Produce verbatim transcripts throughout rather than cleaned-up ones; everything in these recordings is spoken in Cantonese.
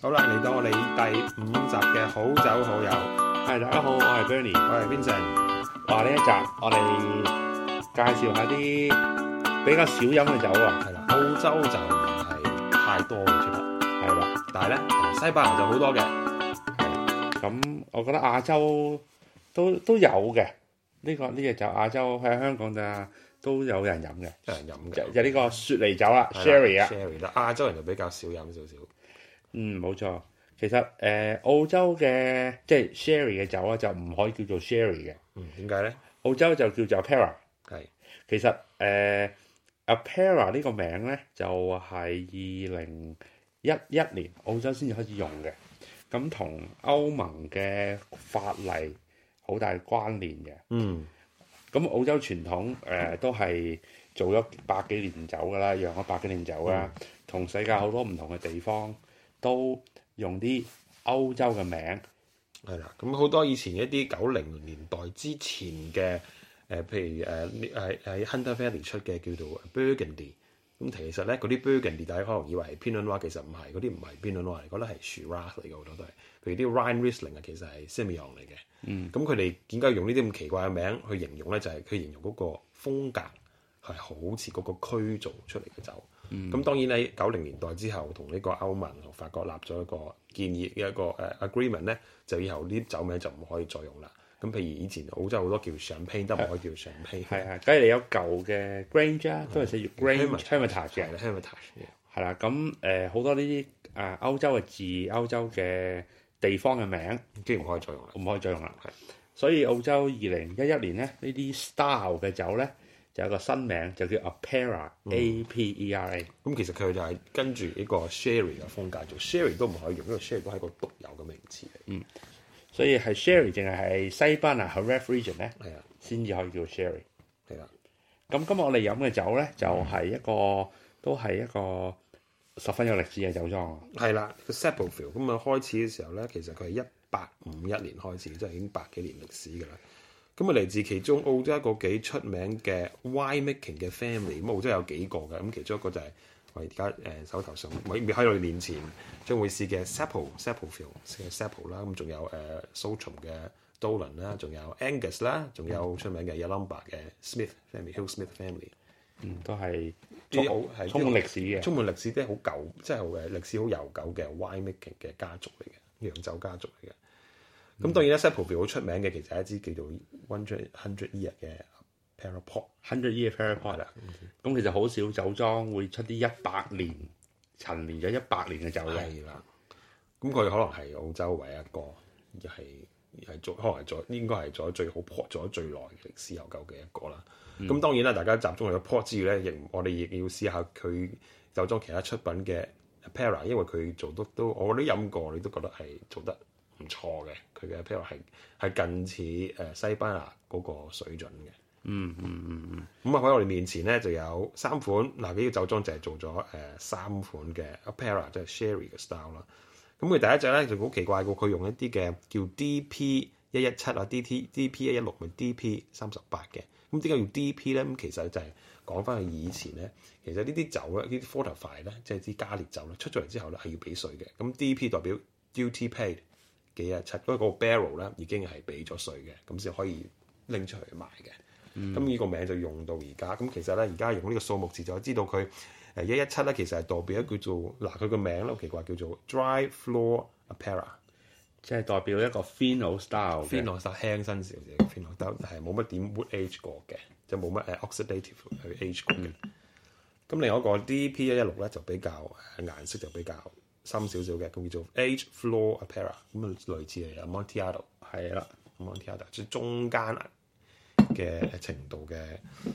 好啦，嚟到我哋第五集嘅好酒好友。 係，大家好，我係 Bernie， 我係 Vincent。 話呢一集我哋介紹下啲比較少飲嘅酒啊。 係啦，澳洲就唔係太多嘅出嚟， 係啦， 但係咧西班牙就好多嘅。 係咁，我覺得亞洲都都有嘅。呢、這個呢隻酒亞洲喺香港就都有人飲嘅， 有人飲嘅。 就就呢個雪梨酒啦 ，Sherry 啊。 Sherry 啦，亞洲人就比較少飲少少。 嗯，冇錯。其實誒、呃、澳洲嘅即係 Sherry 嘅酒啊，就唔可以叫做 Sherry 嘅。 嗯，點解咧？ 澳洲就叫做 Apera。 係。 其實誒、呃、Apera 呢個名咧，就係二零一一年澳洲先至開始用嘅。咁同歐盟嘅法例好大關聯嘅。 嗯。咁澳洲傳統誒、呃、都係做咗百幾年酒㗎啦，釀咗百幾年酒啦，同、嗯、世界好多唔同嘅地方都用啲歐洲嘅名。 係啦，咁好多以前一啲九零年代之前嘅誒、呃，譬如誒誒喺 Hunter Valley 出嘅叫做 Burgundy。咁其實咧嗰啲 Burgundy 大家可能以為係 Pinot Noir，其實唔係，嗰啲唔係 Pinot Noir，覺得係 Shiraz 嚟嘅好多都係。譬如啲 Rhine Riesling 啊，其實係 Semillon 嚟嘅。嗯。咁佢哋點解用呢啲咁奇怪嘅名去形容咧？就係、是、佢形容嗰個風格係好似嗰個區做出嚟嘅酒。咁、嗯、當然喺九零年代之後，同呢個歐盟同法國立咗一個建議嘅一個誒 agreement 咧，就以後呢啲酒名就唔可以再用啦。咁譬如以前澳洲好多叫 Champagne 都唔可以叫 Champagne。係係， 假如你有舊嘅 Grange 啊，都係寫住 Grange Hermitage 嘅 Hermitage。 係啦，咁誒好多呢啲誒歐洲嘅字、歐洲嘅地方嘅名， 即係唔可以再用啦， 唔可以再用啦。係，所以澳洲二零一一年咧，呢啲 style 嘅酒咧，就有個新名，就叫 Apera，A P E R A。咁、 嗯、其實佢就係跟住呢個 Sherry 嘅風格做 Sherry 都唔可以用，因為 Sherry 都係個獨有嘅名詞嚟。 嗯。所以係 Sherry 淨係係西班牙 Jerez region 咧，係啊，先至可以叫 Sherry。 係啦。 咁今日我哋飲嘅酒咧，就係、是、一個、嗯、都係一個十分有歷史嘅酒莊。 係啦，個 Seppeltsfield 咁啊開始嘅時候咧，其實佢係一八五一年開始，即係已經百幾年歷史㗎啦。咁啊嚟自其中澳洲一個幾出名嘅 wine making 嘅 family，咁澳洲有幾個嘅，咁其中一個就係、是。我而家誒手頭上未未喺我哋面前將會試嘅 Seppelt Seppeltsfield 嘅 Seppelt 啦，咁仲有誒 Saltram 嘅 Dolan 啦，仲有 Angus 啦，仲有出名嘅 Yalumba 嘅 Smith Family、Hill Smith Family， 嗯，都係啲好係充滿歷史嘅，充滿歷史啲好舊，即係誒歷史好悠久嘅 wine making 嘅家族嚟嘅，釀酒家族嚟嘅。咁、嗯、當然咧 Seppeltsfield 好出名嘅，其實係一支叫做 One Hundred Year 嘅。Paraport hundred year Paraport 啦，咁其實好少酒莊會出啲一百年陳年咗一百年嘅酒嘅。 係啦，咁佢可能係澳洲唯一一個，又係係做可能係做應該係做咗最好 port 做咗最耐嘅歷史悠久嘅一個啦。咁、嗯、當然啦，大家集中喺個 port 之餘咧，亦我哋亦要試下佢酒莊其他出品嘅 Apera， 因為佢做得都我覺得飲過，你都覺得係做得唔錯嘅。佢嘅 Apera 係係近似誒西班牙嗰個水準嘅。 嗯嗯嗯嗯， 咁啊喺我哋面前咧就有三款，嗱呢個酒莊就係做咗誒、呃、三款嘅 Apera， 即係 Sherry 嘅 style 啦。咁佢第一隻咧就好奇怪過，佢用一啲嘅叫 D P 一一七啊，D T D P 一一六咪 D P 三十八嘅。咁點解用 D P 咧？咁其實就係講翻佢以前咧，其實呢啲酒咧，呢啲 fortified 咧，即係啲加烈酒咧，出咗嚟之後咧係要俾稅嘅。咁 D P 代表 duty paid 幾一七，嗰個 barrel 咧已經係俾咗稅嘅，咁先可以拎出去賣嘅。咁、嗯、呢個名就用到而家，咁其實咧而家用呢個數目字就知道佢誒一一七咧，其實係代表一叫做嗱佢個名咧好奇怪叫做 Dry Floor Apera， 即係代表一個 Fino style，Fino style 輕身少少嘅 Fino， 但係冇乜點 wood age 過嘅，就冇乜誒 oxidative 去 age 過嘅。咁、嗯、另外一個 D P 一一六咧就比較誒顏色就比較深少少嘅，咁叫做 Age Floor Apera， 咁啊類似係 Amontillado 係啦 Amontillado 即係中間嘅程度嘅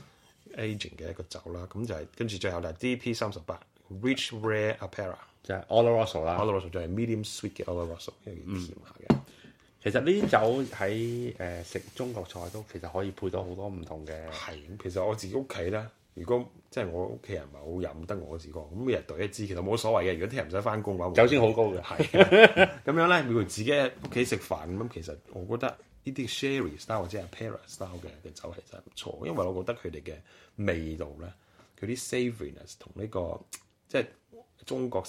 aging 嘅一個酒啦，咁就係跟住最後就係 D P 三十八 Rich Rare Apera， 就係 Oloroso 啦 ，Oloroso 就係 medium sweet 嘅 Oloroso， 因為甜下嘅、嗯。 其實呢啲酒喺誒食中國菜都其實可以配到好多唔同嘅。 係，其實我自己屋企咧，如果即係我屋企人唔係好飲得我自己，咁每日兌一支其實冇所謂嘅。如果聽日唔使翻工嘅話， 酒精好高嘅。 係咁樣咧，每個自己喺屋企食飯咁，其實我覺得。呢啲 Sherry style 或者係 Apera style 嘅嘅酒其實係唔錯，因為我覺得佢哋嘅味道咧，佢啲 savouriness 同呢個即係中國式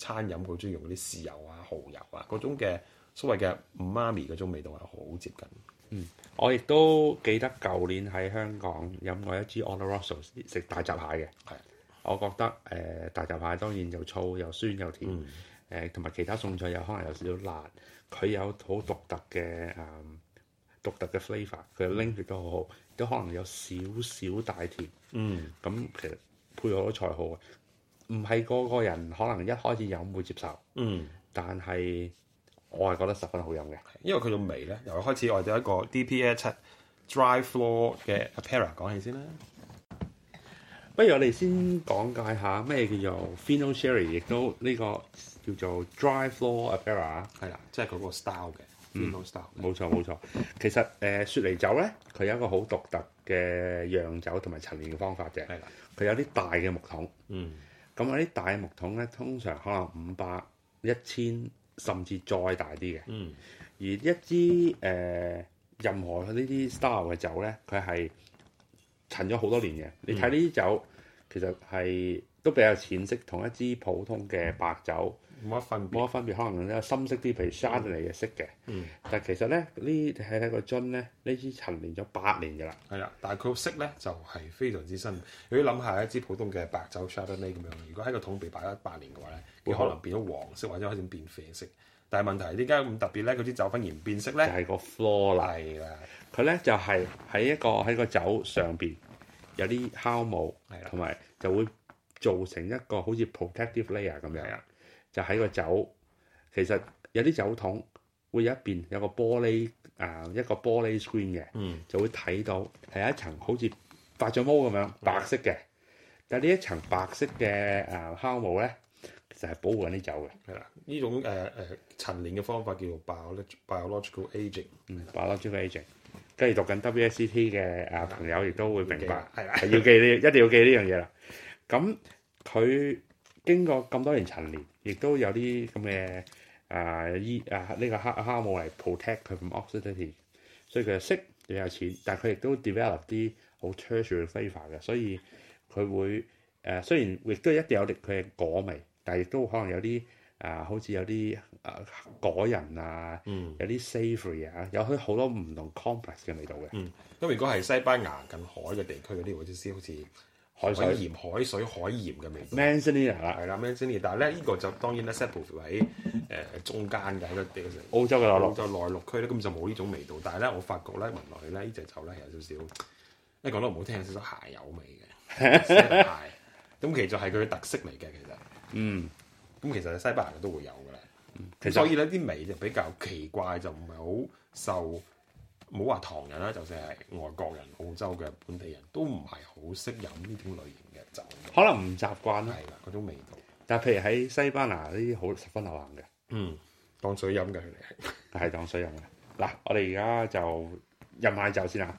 餐飲佢中意用嗰啲豉油啊、蠔油啊嗰種嘅所謂嘅媽咪嗰種味道係好接近。 嗯，我亦都記得舊年喺香港飲過一支 Oloroso 食大閘蟹嘅。 係， 我覺得誒、呃、大閘蟹當然又粗又酸又甜，誒同埋其他餸菜有可能有少少辣，佢有好獨特嘅誒、嗯、獨特嘅 flavour，佢嘅 link 亦都好好，都可能有少少帶甜。嗯，咁其實配好多菜好嘅，唔係個個人可能一開始飲會接受。嗯，但係我係覺得十分好飲嘅， 因為佢種味咧，由一開始我哋有一個 D P 一七 Dry Floor 嘅 Apera 講起先啦。 不如我哋先講解下咩叫做 Fino Sherry， 亦都呢個叫做 Dry Floor Apera。 係啦，即係嗰個 style 嘅 Fino style。 冇錯冇錯，其實誒、呃、雪梨酒咧，佢有一個好獨特嘅釀酒同埋陳年嘅方法嘅。係啦，佢有啲大嘅木桶。嗯。咁有啲大嘅木桶咧，通常可能五百、一千甚至再大啲嘅。嗯。而一支誒、呃、任何呢啲 style 嘅酒咧，佢係陳咗好多年嘅。你睇呢啲酒，其實係都比較淺色，同一支普通嘅白酒冇乜分別。 冇乜分別，可能咧深色啲，譬如 Chardonnay 嘅色嘅。嗯。但係其實咧，呢睇睇個樽咧，呢支陳年咗八年㗎啦。係啦， 但係佢個色咧就係、是、非常之新。如果諗下一支普通嘅白酒 Chardonnay 咁樣，如果喺個桶被擺咗八年嘅話咧，佢可能變咗黃色或者開始變啡色。但係問題係點解咁特別咧？佢啲酒反而唔變色咧？ 就係個 floor 啦。係啦，佢咧就係、是、喺一個喺個酒上邊有啲酵母，同埋就會造成一個好似 protective layer 咁樣。就喺個酒，其實有啲酒桶會有一邊有個玻璃啊、呃，一個玻璃 screen 嘅，嗯、就會睇到係一層好似發咗毛咁樣白色嘅。但係呢一層白色嘅誒酵母咧，其實係保護緊啲酒嘅。 係啦，呢種誒誒陳年嘅方法叫做 biological aging， 嗯 biological aging。跟住讀緊 W S E T 嘅誒朋友亦都會明白， 係啦， 係要記呢，一定要記呢樣嘢啦。咁佢經過咁多年陳年，亦都有啲咁嘅誒依誒呢個酵酵母嚟 protect 佢 from oxidity， 所以佢嘅色比較淺，但係佢亦都 develop 啲好 tertiary flavour 嘅，所以佢會誒、呃、雖然亦都一定有啲佢嘅果味，但係亦都可能有啲誒、呃、好似有啲誒、呃、果仁啊，嗯、有啲 savoury 啊，有啲好多唔同 complex 嘅味道嘅。 嗯，咁如果係西班牙近海嘅地區嗰啲，或者先好似海水、鹽、海水、海鹽嘅味道 Manzanilla 啦， 係啦 Manzanilla， 但係咧呢、這個就當然咧 Sepulveda 喺誒中間嘅喺個地澳洲嘅內陸， 澳洲內陸區咧根本就冇呢種味道。但係咧我發覺咧聞落去咧呢隻酒咧係有少少，一講得唔好聽有少少鞋油味嘅鞋。咁其實係佢嘅特色嚟嘅其實。嗯。咁其實西班牙都會有㗎啦。咁、嗯、所以咧啲味就比較奇怪，就唔係好受。唔好話唐人啦，就算係外國人、澳洲嘅本地人都唔係好識飲呢種類型嘅酒， 可能唔習慣啦。 係啦，嗰種味道。 但係譬如喺西班牙呢啲好十分流行嘅， 嗯，當水飲嘅佢哋係， 係當水飲嘅。嗱，我哋而家就飲下酒先啦。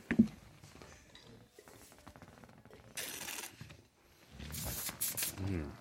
嗯，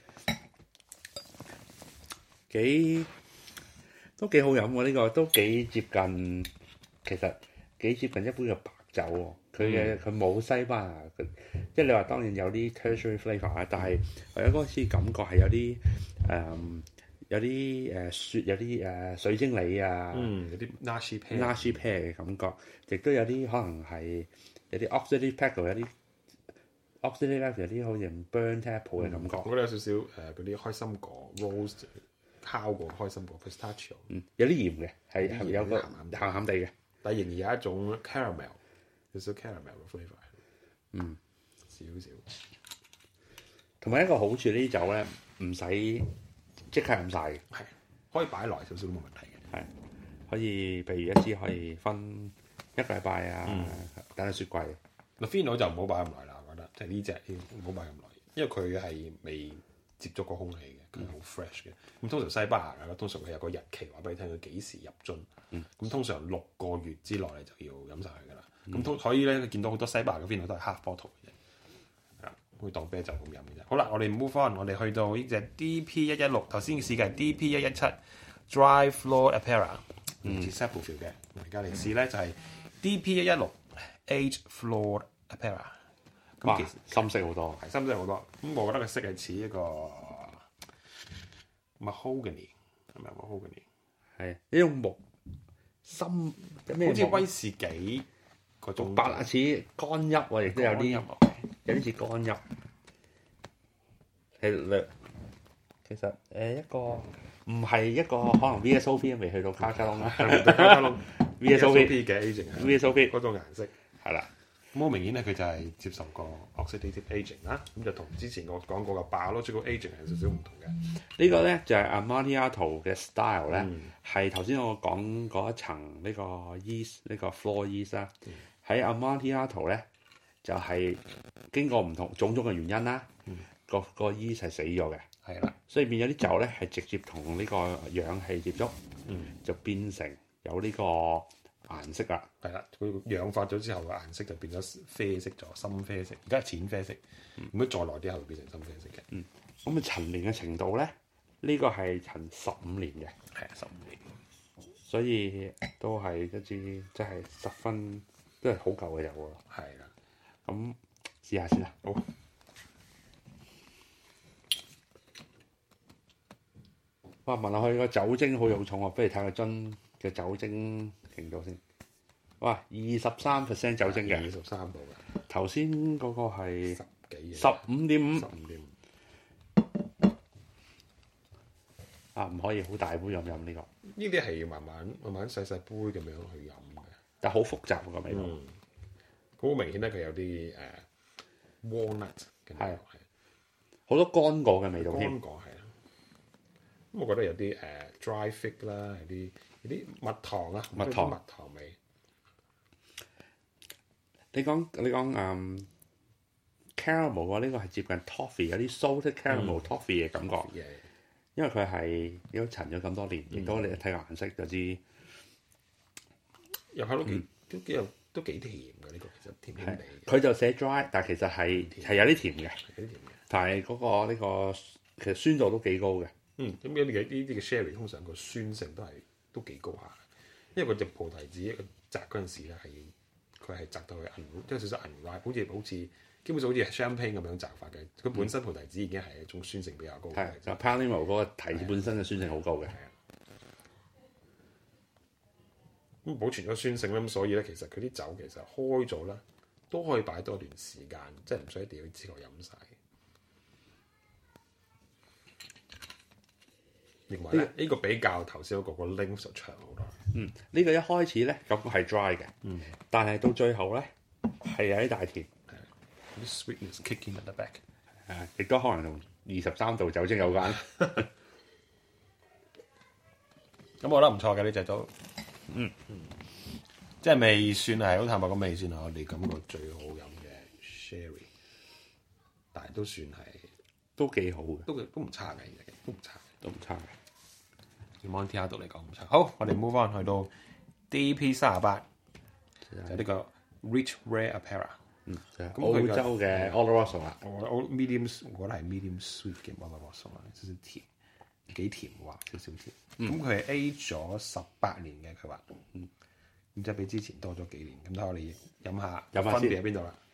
幾都幾好飲喎！呢、呢個都幾接近。其實幾接近一杯嘅白酒喎，佢嘅佢冇西班牙，即係你話當然有啲 tertiary flavour 啊，但係我有嗰次感覺係有啲誒、嗯、有啲誒雪有啲誒水晶梨啊， 嗯，有啲 nashie pear nashie pear 嘅感覺，亦都有啲可能係有啲 oxidative petal 有啲 oxidative 有啲好似 burnt apple 嘅感覺， 我覺得有少少誒嗰啲開心果 roast 烤過開心果 pistachio， 嗯，有啲鹽嘅，係係有個鹹鹹地嘅。 但仍然有一種 caramel， 有少少 caramel 嘅 flavour， 嗯，少少。 同埋一個好處呢啲酒咧，唔使即刻飲晒嘅， 係可以擺耐少少都冇問題嘅， 係可以，譬如一支可以分一個禮拜啊，嗯、等喺雪櫃。 嗱 Fino 就唔好擺咁耐啦，我覺得，即係呢隻唔好擺咁耐，因為佢係未接觸過空氣嘅，佢好 fresh 嘅。咁通常西班牙啊，通常佢有個日期話俾你聽，佢幾時入樽。咁、嗯、通常六個月之內你就要飲晒佢噶啦。咁、嗯、所以咧，你見到好多西班牙嘅 Fino 都係 half bottle 嘅啫，係啦，會當啤酒咁飲嘅啫。好啦，我哋 move on，我哋去到呢隻 D P 一一六，頭先試嘅係 D P 一一七 Dry Floor Apera， 唔似 Sepulveda 嘅。而家嚟試咧就係 D P 一一六 Aged Floor Apera。咁其實深色好多， 係深色好多。咁我覺得佢色係似一個 mahogany 係咪 mahogany？ 係呢種木深， 好似威士忌嗰種白似乾邑喎，亦都有啲有啲似乾邑。係其實誒一個唔係一個可能 V S O P 未去到卡卡窿啦， 卡卡窿 V S O P 嘅 aging V S O P 嗰種顏色係啦。 咁好明顯咧，佢就係接受過 oxidative aging 啦，咁就同之前我講過嘅 biological aging係有少少唔同嘅。 呢個咧就係 Amontillado 嘅 style 咧，係頭先我講嗰一層呢個 yeast 呢個 floor yeast 啦。喺 Amontillado 咧就係經過唔同種種嘅原因啦，個個 yeast 係死咗嘅， 係啦， 所以變咗啲酒咧係直接同呢個氧氣接觸，就變成有呢個顏色啦。 係啦，佢氧化咗之後嘅顏色就變咗啡色咗，深啡色。而家淺啡色，如果再耐啲後會變成深啡色嘅。 嗯，咁啊陳年嘅程度咧，呢、這個係陳十五年嘅， 係啊，十五年， 所以都係一支即係十分都係好舊嘅酒喎。 係啦， 咁試下先啦。 好。 哇！聞落去個酒精好有重喎，不如睇個樽嘅酒精程度先。哇！二十三 percent 酒精嘅， 二十三度嘅。 頭先嗰個係十幾， 十五點五， 十五點五。 啊，唔可以好大杯飲飲呢個。 呢啲係要慢慢慢慢細細杯咁樣去飲嘅， 但係好複雜個味道。 嗯，好明顯咧，佢有啲誒、uh, walnut 嘅味道，係好多乾果嘅味道添。 乾果係啊，咁我覺得有啲誒、uh, dry fig 啦，有啲有啲蜜糖啊， 蜜糖蜜糖味。 你講你講誒、um, caramel 喎，呢個係接近 toffee， 有啲 salted caramel、嗯、toffee 嘅感覺。Yeah. 因為佢係都陳咗咁多年，亦、嗯、都你一睇個顏色就知。入口都幾、嗯、 都幾有都幾甜嘅呢、呢個，其實甜甜地。 佢就寫 dry，但係其實係係有啲甜嘅， 有啲甜嘅。 但係嗰、嗰個呢、呢個其實酸度都幾高嘅。 嗯，咁呢啲嘅呢啲嘅 sherry 通常個酸性都係都幾高下，因為個隻菩提子一個摘嗰陣時咧係佢係摘到去銀，即係少少銀 ripe，好似好似。基本上好似 champagne 咁樣摘法嘅，佢本身菩提子已經係一種酸性比較高嘅。 係就 Palermo 嗰個提子本身嘅酸性好高嘅。 咁保存咗酸性咧，咁所以咧其實佢啲酒其實開咗咧都可以擺多段時間，即係唔需要一定要之後飲晒。認為咧呢、呢個比較頭先嗰個個 length 就長好多。 嗯，呢、呢個一開始咧感覺係 dry 嘅，嗯，但係到最後咧係有啲大甜。 啲 sweetness kicking at the back， 係亦都可能同二十三度酒精有關。 咁我覺得唔錯嘅呢隻都，嗯嗯，即係未算係好坦白，咁未算係我哋感覺最好飲嘅 sherry， 但係都算係都幾好嘅， 都都唔差嘅，都唔差， 都唔差嘅。 Amontillado嚟講唔差。好，我哋 move on 去到 D P 三十八，就係呢個 Rich Rare Apera。 嗯，就係、澳洲嘅 Oloroso 啦， 我 medium， 我覺得係 medium sweet 嘅 Oloroso 啦，少少甜，幾甜喎，少少甜。咁佢係 age 咗十八年嘅，佢話，嗯，咁即係比之前多咗幾年。咁睇我哋飲下，飲下分別喺邊度啦？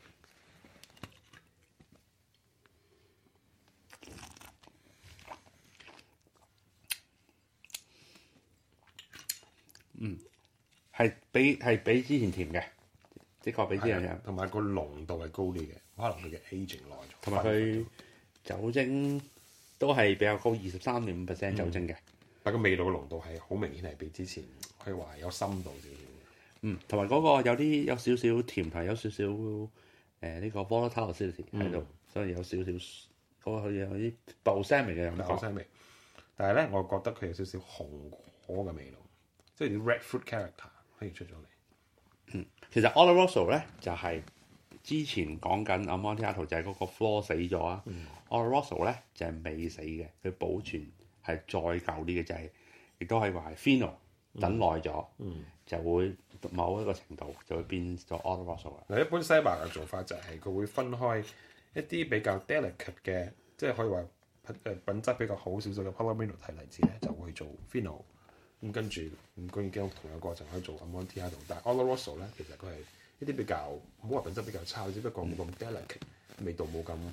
嗯，係比係比之前甜嘅。的確比之前甜， 同埋個濃度係高啲嘅，可能佢嘅 aging 耐咗， 同埋佢酒精都係比較高，二十三點五 percent 酒精嘅、嗯。 但個味道嘅濃度係好明顯係比之前可以話有深度少少。 嗯，同埋嗰個有啲有少少甜，係有少少誒呢個 volatile acidity 喺度、嗯，所以有少少嗰、那個有啲 balsamic 味嘅感覺。balsamic 味，但係咧，我覺得佢有少少紅果嘅味道，即係啲 red fruit character 可以出咗嚟。 嗯，其實 Oloroso 咧就係、是、之前講緊 Amontillado 就係嗰個 floor 死咗啊、嗯、Oloroso 咧就係、是、未死嘅，佢保存係再舊啲嘅，就係、是、亦都可以話係 Fino 等耐咗、嗯，就會某一個程度就會變咗 Oloroso 啦。嗱，一般西班牙嘅做法就係佢會分開一啲比較 delicate 嘅，即係可以話誒品質比較好少少嘅 Palomino 提例子咧，就會做 Fino。咁跟住咁居然經過同一個過程可以做 Amontillado，但係 Oloroso 咧其實佢係一啲比較唔好話品質比較差，只不過冇咁 delicate，味道冇咁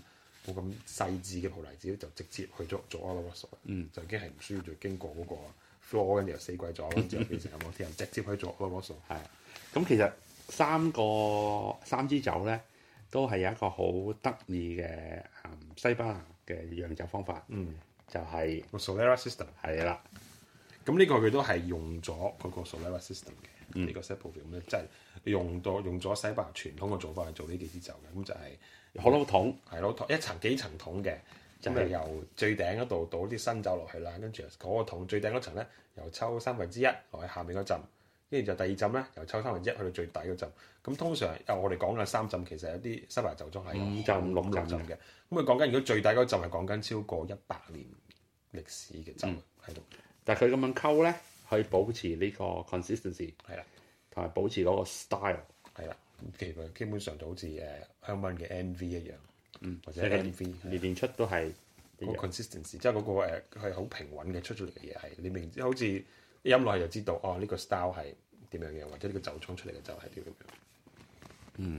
冇咁細緻嘅葡提子，就直接去咗做 Oloroso， 嗯， 就已經係唔需要再經過嗰個 floor 跟住又死鬼咗，跟住又變成 Amontillado，直接去做 Oloroso。 係，咁其實三個三支酒咧，都係有一個好得意嘅西班牙嘅釀酒方法， 嗯， 就係、是、 個 Solera System 係啦。 咁呢個佢都係用咗嗰個 Solera System 嘅，呢、 嗯、 個 Sepulveda 咧，即係用到用咗西班牙傳統嘅做法去做呢幾支酒嘅，咁就係好多桶， 係咯，一層幾層桶嘅，就係、是、由最頂嗰度倒啲新酒落去啦，跟住嗰個桶最頂嗰層咧，又抽三分之一落去下面嗰浸，跟住就第二浸咧，又抽三分之一去到最底嗰浸。咁通常啊，我哋講嘅三浸其實有啲西班牙酒莊係五浸六浸嘅。咁佢講緊如果最底嗰浸係講緊超過一百年歷史嘅酒喺度。嗯， 但係佢咁樣溝咧，可以保持呢個 consistency 係啦， 同埋保持嗰個 style 係啦。其實基本上就好似誒香檳嘅 N V 一樣， 嗯， 或者 N V 年年出都係個 consistency，即係嗰個誒係好平穩嘅出咗嚟嘅嘢係，你明知好似飲落去就知道哦，呢、這個 style 係點樣樣，或者呢個酒廠出嚟嘅酒係點樣樣。 嗯，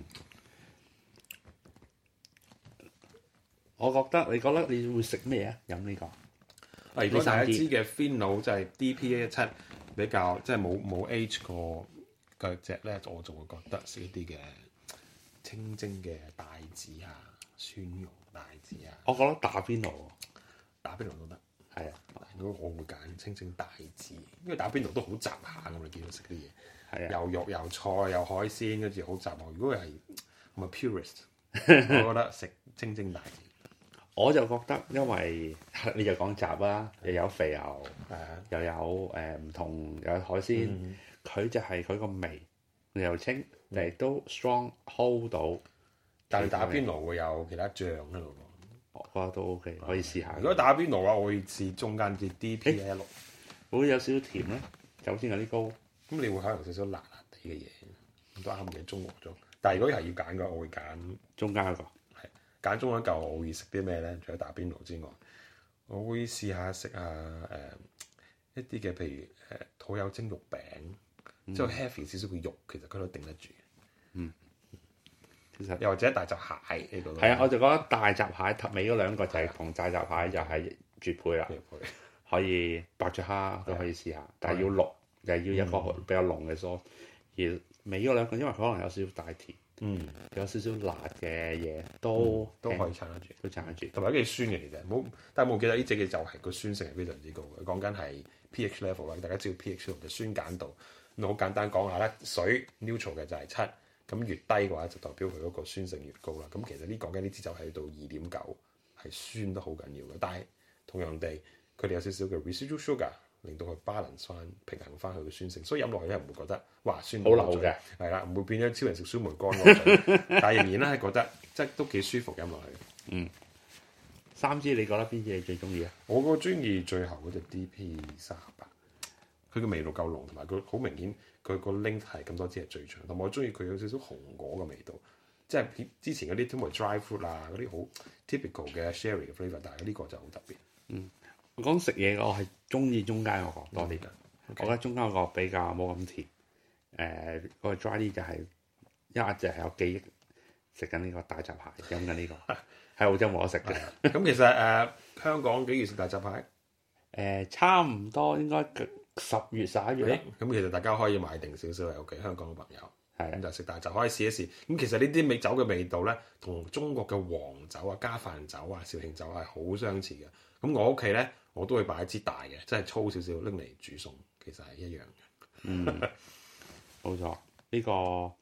我覺得你覺得你會食咩啊？飲呢、這個啊，如果第一支嘅 Fino 就係 D P 一一七比較即係冇冇 age 過嘅隻咧，我就會覺得食一啲嘅清蒸嘅帶子啊、蒜蓉帶子啊。 我覺得打邊爐， 打邊爐都得， 係啊。 如果我會揀清蒸帶子，因為打邊爐都好雜下咁，你見到食啲嘢。 係啊， 又肉又菜又海鮮，跟住好雜喎。如果係唔係 purist，我覺得食清蒸帶子。 我就覺得，因為你就講雜啦，又有肥牛， 啊、 又有誒唔、呃、同又有海鮮，佢、嗯、就係佢個味又清，亦都 strong hold 到。 但係打邊爐會有其他醬喺度喎， 我覺得都 OK，可以試下。 如果打邊爐嘅話，我會試中間啲 D P 一一六， 會有少少甜咧，酒精有啲高。 咁你會可能少少辣辣地嘅嘢，都啱嘅中和咗。但係如果係要揀嘅，我會揀中間一個。 係揀中間一嚿，我會食啲咩咧？除咗打邊爐之外，我會試下食下誒、呃、一啲嘅，譬如誒、呃、土有蒸肉餅，即係 heavy 少少嘅肉，其實佢都頂得住。 嗯，其實又或者大閘蟹呢個。 係啊，我就覺得大閘蟹頭尾嗰兩個就係同大閘蟹就係絕配啦。可以白灼蝦都可以試下，但係要濃。就係要一個比較濃嘅sauce，而尾嗰兩個因為可能有少少帶甜， 嗯， 有少少辣嘅嘢都、嗯、 都可以撐得住， 都撐得住， 同埋幾酸嘅其實，冇但係冇記得呢隻嘅就係個酸性係非常之高嘅。講緊係 pH level 啦，大家知道 pH level 嘅酸鹼度，咁好簡單講下咧，水 neutral 嘅就係七，咁越低嘅話就代表佢嗰個酸性越高啦。咁其實呢講緊呢支酒係到二點九，係酸得好緊要嘅，但係同樣地佢哋有少少嘅 residual sugar。令到佢 balance 翻平衡翻佢嘅酸性，所以飲落去咧唔會覺得哇酸好流嘅， 係啦，唔會變咗超人食酸梅乾嗰但係仍然咧係覺得即係都幾舒服飲落去。 嗯，三支你覺得邊支你最中意啊？ 我個中意最後嗰隻 D P 三十八，佢嘅味道夠濃，同埋佢好明顯佢個 length 係咁多支係最長，同埋我中意佢有少少紅果嘅味道，即係之前嗰啲通常 dry fruit 啊嗰啲好 typical 嘅 sherry 嘅 flavour，但係呢個就好特別。 嗯。我講食嘢，我係中意中間嗰個多啲。 嗯 okay. 我覺得中間嗰個比較冇咁甜。誒、呃，嗰、那個 dry 啲就係、是、一直係有記憶食緊呢個大閘蟹，飲緊呢個喺澳洲冇得食嘅。 咁其實誒、呃、香港幾月食大閘蟹？誒、 呃，差唔多應該十月十一月。 咁其實大家可以買定少少嚟屋企，香港嘅朋友係咁就食大閘可以試一試。咁其實呢啲味酒嘅味道咧，同中國嘅黃酒啊、家飯酒啊、紹興酒係好相似嘅。咁我屋企咧，我都會擺一支大嘅，即係粗少少拎嚟煮餸，其實係一樣嘅。 嗯，冇錯，呢、這個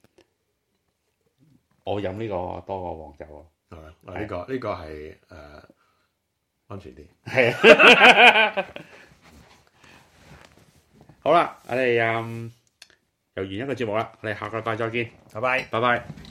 我飲呢個多過黃酒咯。 係咪？呢、這個呢、這個係誒、呃、安全啲。 係啊。好啦，我哋嗯又完一個節目啦，我哋下個禮拜再見， 拜拜， 拜拜。